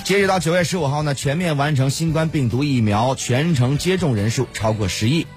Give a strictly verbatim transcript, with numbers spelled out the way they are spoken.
截止到九月十五号呢，全面完成新冠病毒疫苗全程接种人数超过十亿。